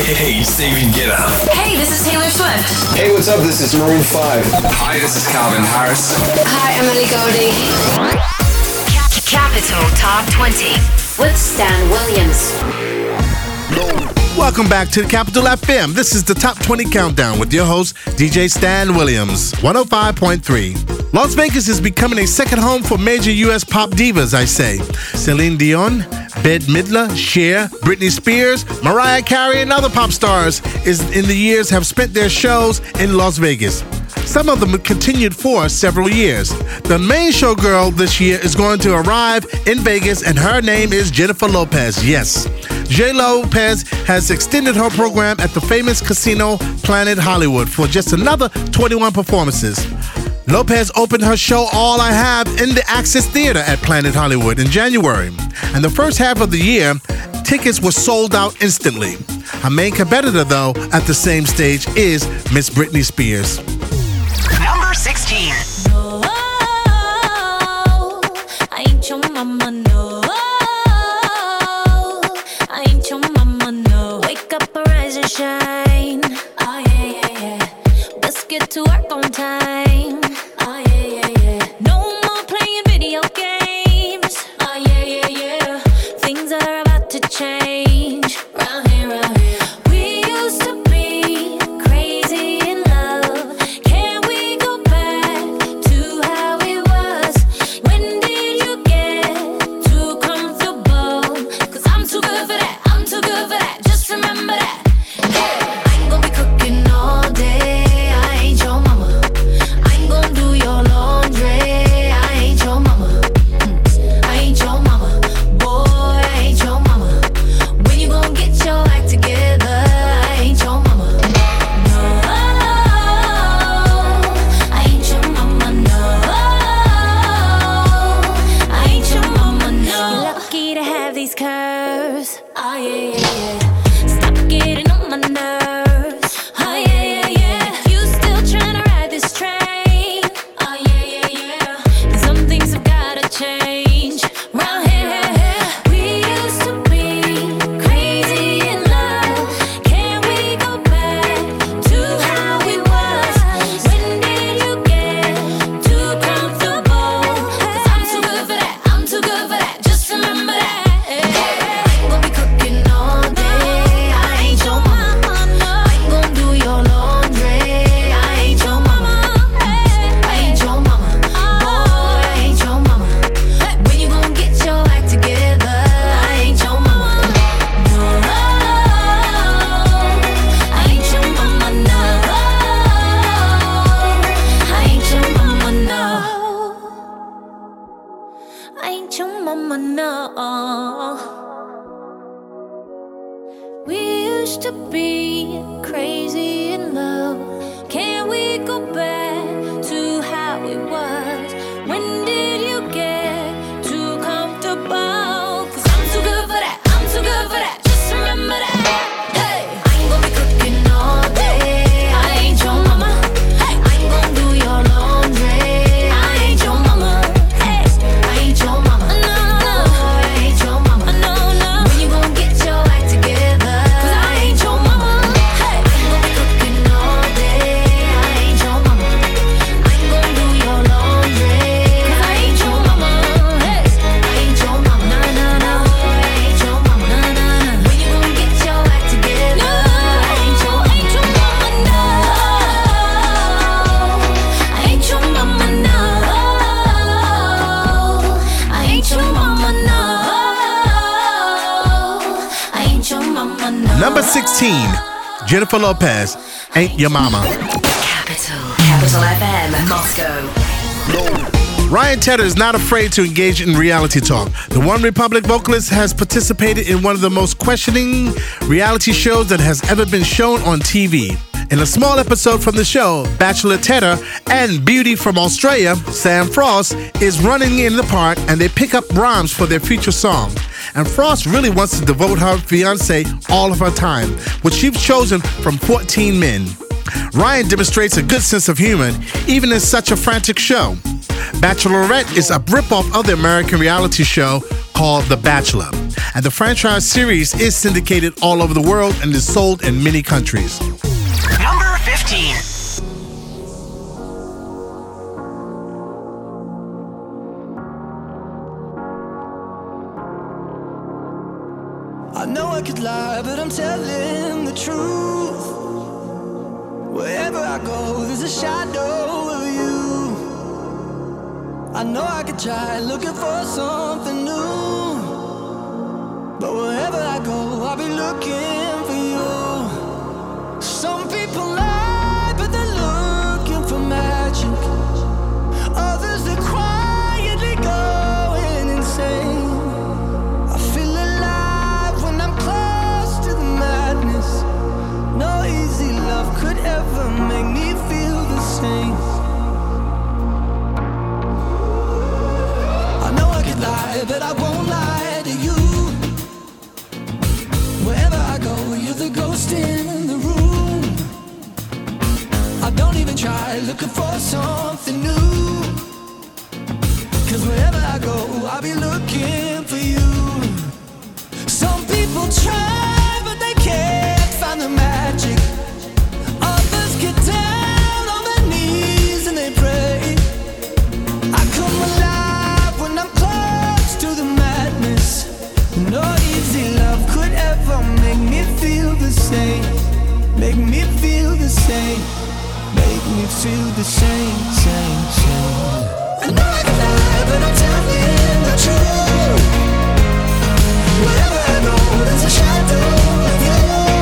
Hey, Steven, get up. Hey, this is Taylor Swift. Hey, what's up? This is Maroon 5. Hi, this is Calvin Harris. Hi, Emily Goldie. Capital Top 20 with Stan Williams. Welcome back to the Capital FM. This is the Top 20 Countdown with your host, DJ Stan Williams, 105.3. Las Vegas is becoming a second home for major U.S. pop divas, I say. Celine Dion, Bette Midler, Cher, Britney Spears, Mariah Carey, and other pop stars in the years have spent their shows in Las Vegas. Some of them continued for several years. The main showgirl this year is going to arrive in Vegas, and her name is Jennifer Lopez. Yes, J. Lopez has extended her program at the famous casino Planet Hollywood for just another 21 performances. Lopez opened her show All I Have in the Access Theater at Planet Hollywood in January. And the first half of the year, tickets were sold out instantly. Her main competitor, though, at the same stage is Miss Britney Spears. Number 16. No, I ain't your mama, no. I ain't your mama, no. Wake up, arise and shine. Oh, yeah, yeah, yeah. Let's get to work on time. Oh, yeah, yeah, yeah. No more playing video games. Oh, yeah, yeah, yeah. Things are about to change. Round here, round here. We used to be crazy in love. Can we go back to how it was? When did you get too comfortable? 'Cause I'm too good for that. I'm too good for that. Just remember that. Yeah. I ain't gonna be cooking all day. I ain't your mama. I ain't gonna do your laundry. I ain't your mama. I ain't your mama. Boy, I ain't your mama. When you gonna get your act together? I ain't your mama. No, I ain't your mama. No, I ain't your mama. No. You're lucky to have these curves. Oh yeah, yeah, yeah. Stop getting on my nerves. Oh yeah, yeah, yeah. You still tryna ride this train? Oh yeah, yeah, yeah. And some things have gotta change. Round here, we used to be crazy in love. Can we go back to how it was? When did you get too comfortable? 'Cause I'm too good for that. I'm too good for that. Just remember that. I ain't gonna be cooking all day. I ain't your mama. I ain't gonna do your laundry. I ain't your mama. I ain't your mama. Boy, I ain't your mama. When you gonna get your act together? I ain't your mama. No, I ain't your mama. No, I ain't your mama. No, I ain't your mama. No. We used to be crazy in love. Can we go back to how it was? When did you get too comfortable? 'Cause I'm too good for that. I'm too good for that. Just remember that. Hey, I ain't gonna be cooking all day. I ain't your mama. Hey, I ain't gonna do your laundry. I ain't your mama. Hey, I ain't your mama. No, no, I ain't your mama. No, no. When you gonna get your act together? 'Cause I ain't your mama. Hey, I ain't gonna be cooking all day. I ain't your mama. I ain't gonna do your laundry. 'Cause I ain't your mama. Hey, I ain't your mama. No, no, no. I ain't your mama. No, no, no. When you gonna get your act together? I ain't your mama. No, I ain't your mama. No, I ain't your mama. No, I ain't your mama. No. Number 16, Jennifer Lopez, Ain't Your Mama. Capital FM, Moscow. Ryan Tedder is not afraid to engage in reality talk. The One Republic vocalist has participated in one of the most questioning reality shows that has ever been shown on TV. In a small episode from the show, Bachelor Tedder and beauty from Australia, Sam Frost, is running in the part and they pick up rhymes for their future song. And Frost really wants to devote her fiancé all of her time, which she's chosen from 14 men. Ryan demonstrates a good sense of humor, even in such a frantic show. Bachelorette is a ripoff of the American reality show called called The Bachelor. And the franchise series is syndicated all over the world and is sold in many countries. Number 15. I know I could lie, but I'm telling the truth. Wherever I go, there's a shadow of you. I know I could try looking for something new, but wherever I go, I'll be looking for you. Some people lie, but they're looking for magic. Others, they're quietly going insane. I feel alive when I'm close to the madness. No easy love could ever make me feel the same. I know I could lie, but I won't lie to you. Wherever I go, you're the ghost in the room. I don't even try looking for something new, 'cause wherever I go, I'll be looking for you. Some people try, but they can't find the magic. Others get down on their knees and they pray. I come alive when I'm close to the madness. No easy love could ever make me feel the same. Make me feel the same. Make me feel the same, same, same. I know I can lie, but I'm telling the truth. Wherever I go, there's a shadow of you.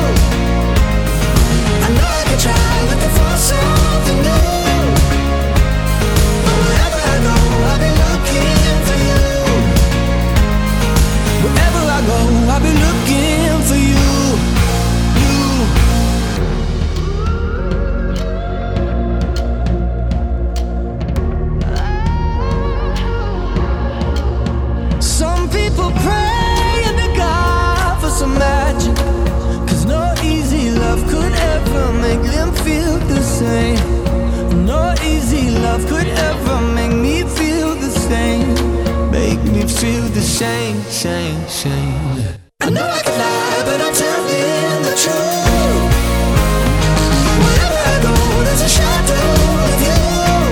I know I can try looking for something new, but wherever I go, I'll be looking for you. Wherever I go, I'll be looking for you. Some people pray and to God for some magic, 'cause no easy love could ever make them feel the same. No easy love could ever make me feel the same. Make me feel the same, same, same. I know I can lie, but I'm telling the truth. Wherever I go, there's a shadow of you.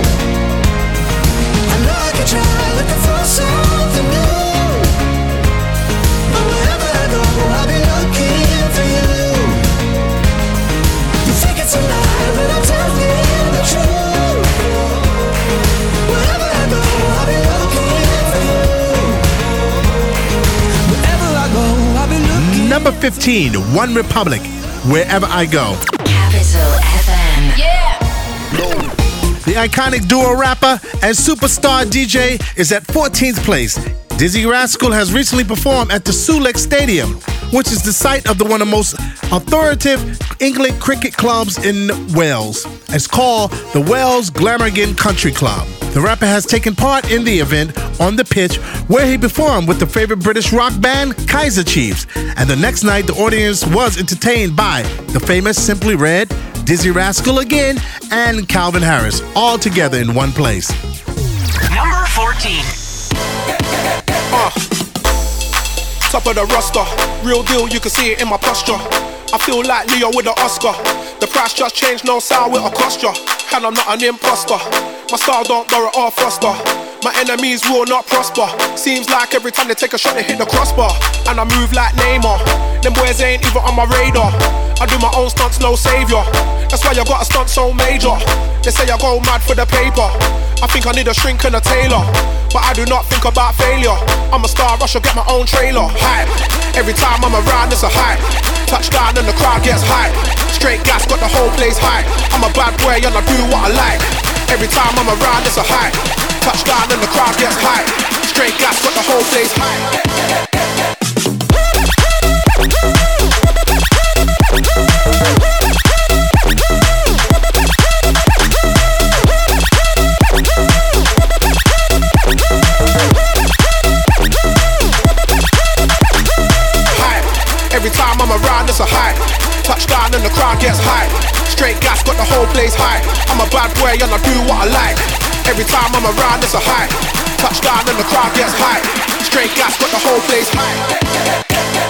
I know I can try looking for something new, but wherever I go, I'll be looking for you. You think it's a lie, but I'm telling the truth. Wherever I go, I'll be looking for you. Wherever I go, I'll be looking. Number 15, One Republic, Wherever I Go. Capital FM. The iconic duo rapper and superstar DJ is at 14th place. Dizzy Rascal has recently performed at the Sulex Stadium, which is the site of one of the most authoritative England cricket clubs in Wales. It's called the Wales Glamorgan Country Club. The rapper has taken part in the event on the pitch where he performed with the favorite British rock band Kaiser Chiefs. And the next night, the audience was entertained by the famous Simply Red, Dizzy Rascal again, and Calvin Harris, all together in one place. Number 14. Top of the roster, real deal, you can see it in my posture. I feel like Leo with an Oscar. The price just changed, no sound with a cost ya. And I'm not an imposter. My style don't borrow or foster. My enemies will not prosper. Seems like every time they take a shot they hit the crossbar. And I move like Neymar. Them boys ain't even on my radar. I do my own stunts, no savior. That's why I got a stunt so major. They say I go mad for the paper. I think I need a shrink and a tailor, but I do not think about failure. I'm a star, I should get my own trailer. Hype, every time I'm around it's a hype. Touchdown and the crowd gets hype. Straight gas, got the whole place hype. I'm a bad boy and I do what I like. Every time I'm around it's a hype. Touchdown and the crowd gets hype. Straight gas, got the whole place hype. Every time I'm around, it's a hype. Touchdown and the crowd gets hype. Straight gas, got the whole place hype. I'm a bad boy and I do what I like. Every time I'm around, it's a hype. Touchdown and the crowd gets high. Straight gas got the whole place high.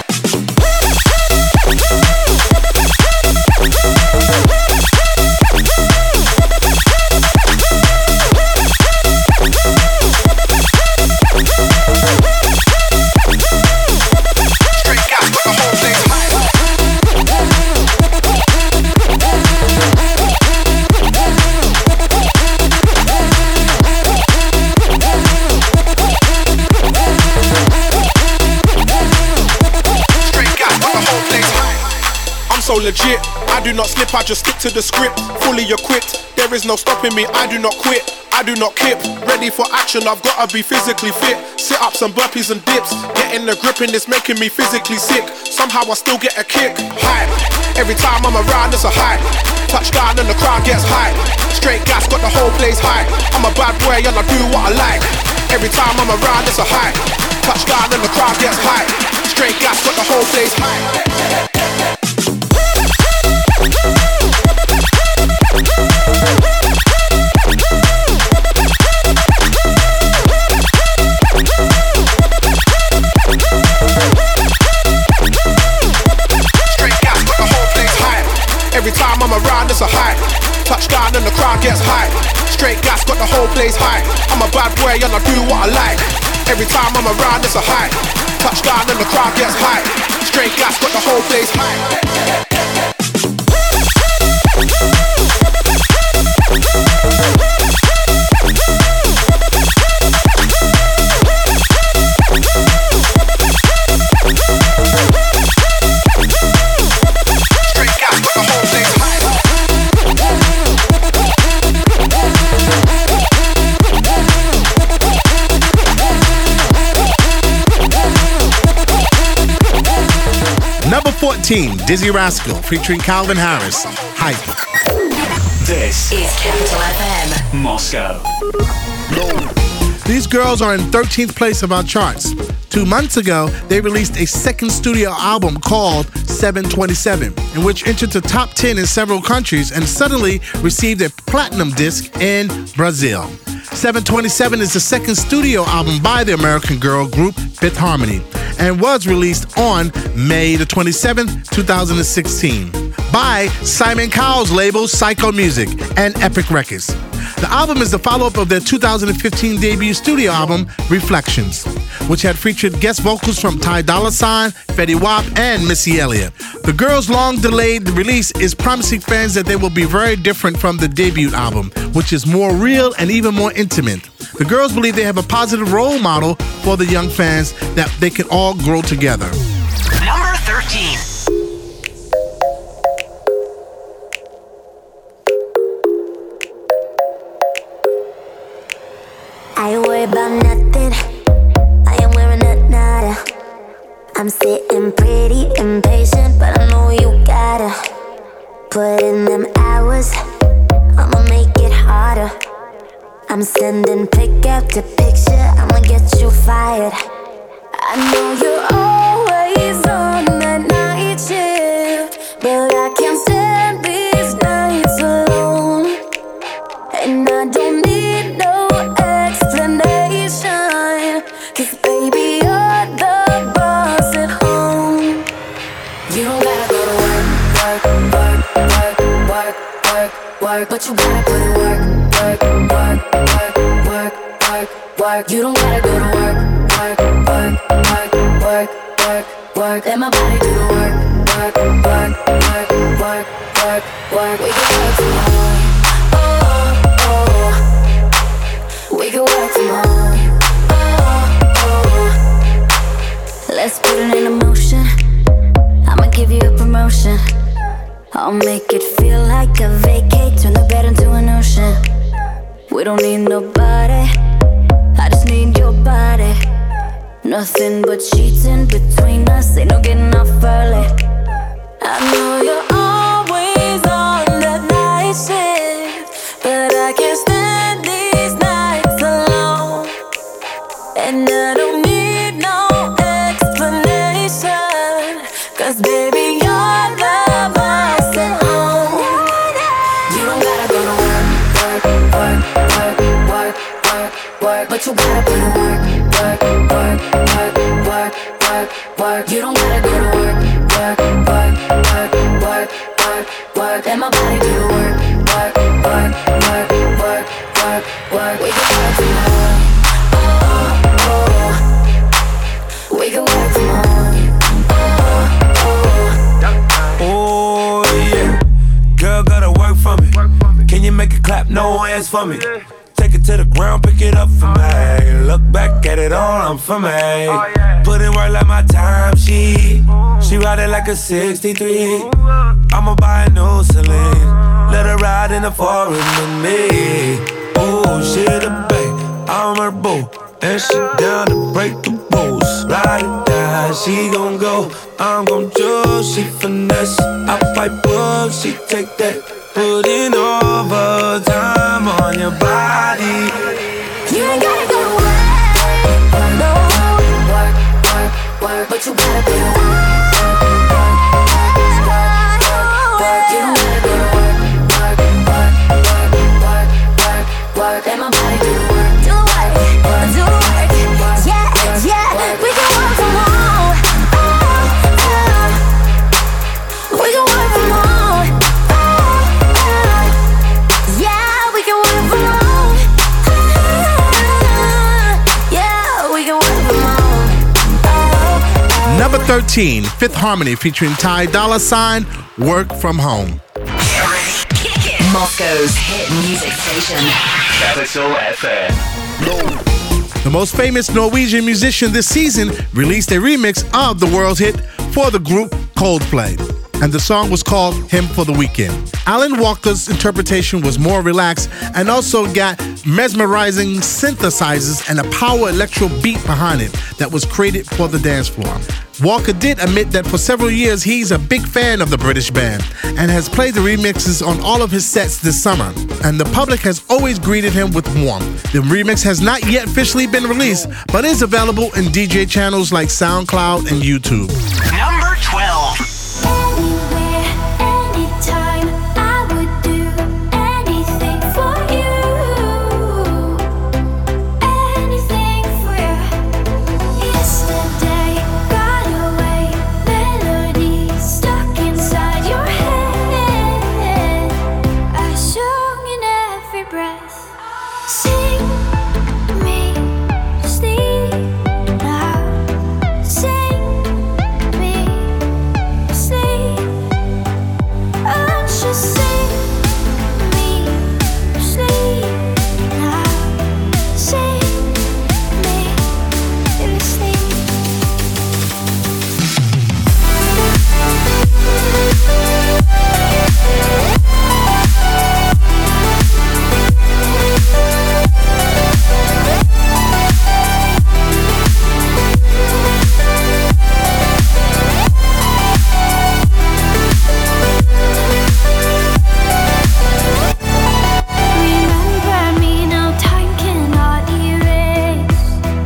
So legit, I do not slip, I just stick to the script. Fully equipped, there is no stopping me, I do not quit, I do not kip. Ready for action, I've gotta be physically fit. Sit-ups and burpees and dips, getting the grip and it's making me physically sick. Somehow I still get a kick, hype. Every time I'm around, it's a hype. Touchdown and the crowd gets high. Straight gas, got the whole place high. I'm a bad boy and I do what I like. Every time I'm around, it's a hype. Touchdown and the crowd gets high. Straight gas, got the whole place high. Every time I'm around, it's a hype. Touchdown and the crowd gets high. Straight gas, got the whole place high. I'm a bad boy and I do what I like. Every time I'm around, it's a hype. Touchdown and the crowd gets high. Straight gas, got the whole place high. Number 14, Dizzy Rascal, featuring Calvin Harris, Hype. This is Capital FM, Moscow. These girls are in 13th place of our charts. 2 months ago, they released a second studio album called 727, in which entered the top 10 in several countries and suddenly received a platinum disc in Brazil. 727 is the second studio album by the American girl group Fifth Harmony and was released on May the 27th, 2016 by Simon Cowell's label Psycho Music and Epic Records. The album is the follow-up of their 2015 debut studio album, Reflections, which had featured guest vocals from Ty Dolla $ign, Fetty Wap, and Missy Elliott. The girls' long-delayed release is promising fans that they will be very different from the debut album, which is more real and even more intimate. The girls believe they have a positive role model for the young fans that they can all grow together. Number 13. I ain't worried about nothing. I am wearing a nada. I'm sitting pretty impatient, but I know you gotta put in them hours. I'ma make it harder. I'm sending pick after picture. I'ma get you fired. I know you're always on that night shift, but I can't stand these nights alone. And I don't need no explanation, 'cause baby, you're the boss at home. You don't gotta go to work, work, work, work, work, work, work, but you gotta put in work, work, work, work, work, work, work. You don't gotta go to work, work, work, work, work, work, work. Let my body do the work, work, work, work, work, work, work. We can work from home. Oh, oh. We can work from home. Oh, oh. Let's put it in motion. I'ma give you a promotion. I'll make it feel like a vacate. Turn the bed into an ocean. We don't need nobody, I just need your body. Nothing but sheets in between us, ain't no getting off early. I know you're always on that night shift, but I can't stand these nights alone. And I don't need no explanation, 'cause baby, you're the boss at home. You don't gotta go to work, work, work, work, work, work, work, but but you gotta put in work, work, work, work, work, work, work. You don't gotta go to work, work, work, work, work, work, work. Let my body do the work, work, work, work, work, work, work. We can work from home, oh, oh. We can work from home, oh, oh. Oh yeah, girl gotta work for me. Can you make it clap? No hands for me. Take it to the ground, pick it up for me. Look back at it all, I'm for me. Put in work like my time sheet. She ride it like a 63. I'ma buy a new Celine. Let her ride in the foreign with me. Oh, she the bae, I'm her boo. And she down to break the rules. Ride it down, she gon' go. I'm gon' choose, she finesse. I pipe up, she take that. Put in overtime on your body. You ain't gotta go to work, no. Work, work, work, but you gotta do work, work, work, work. You don't gotta go to work, work, work, work, work, work, work. Let my body do the work, do the work, do the work. Yeah, yeah, we can work from home. We can work from home. Number 13, Fifth Harmony featuring Ty Dolla $ign, Work From Home. Moscow's hit music station. Capital FM. The most famous Norwegian musician this season released a remix of the world's hit for the group Coldplay, and the song was called Hymn for the Weekend. Alan Walker's interpretation was more relaxed and also got mesmerizing synthesizers and a power electro beat behind it that was created for the dance floor. Walker did admit that for several years he's a big fan of the British band and has played the remixes on all of his sets this summer, and the public has always greeted him with warmth. The remix has not yet officially been released, but is available in DJ channels like SoundCloud and YouTube. Number 12. Anywhere, anytime, I would do anything for you. Anything for you. Yesterday got away, melodies stuck inside your head. I sung in every breath. Sing me sleep now. Sing me sleep. Just sing me sleep now. Sing me sleep. Remember me, no time cannot erase.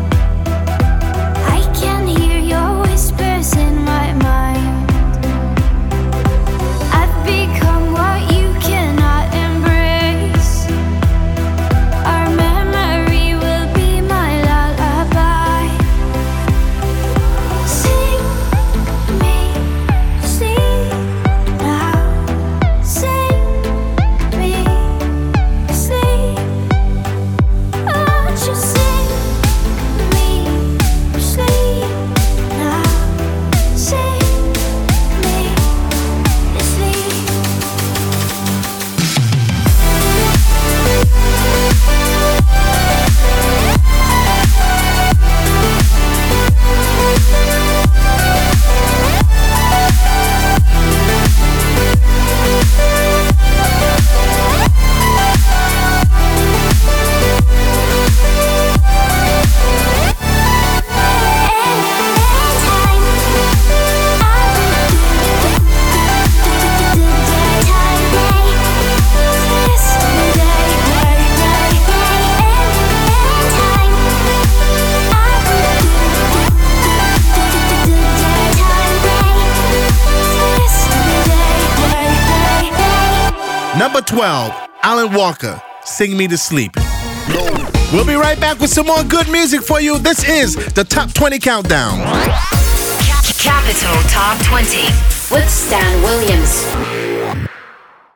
I can hear your whispers in my mind. I've become what you cannot embrace. Our memory will be my lullaby. Sing me sleep now. Sing me sleep. Just sing me sleep now. Sing me sleep. Number 12, Alan Walker, Sing Me to Sleep. We'll be right back with some more good music for you. This is the Top 20 Countdown. Capital Top 20 with Stan Williams.